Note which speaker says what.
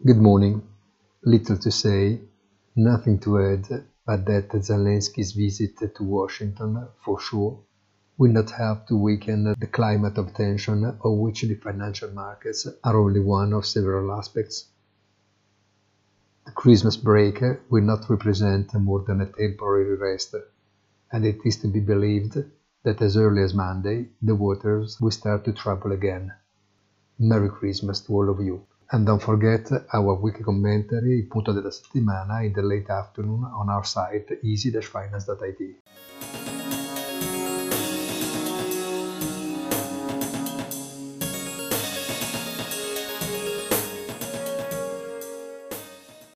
Speaker 1: Good morning. Little to say, nothing to add, but that Zelensky's visit to Washington, for sure, will not help to weaken the climate of tension of which the financial markets are only one of several aspects. The Christmas break will not represent more than a temporary rest, and it is to be believed that as early as Monday the waters will start to trouble again. Merry Christmas to all of you. And don't forget our weekly commentary, il punto della settimana, in the late afternoon on our site easy-finance.it.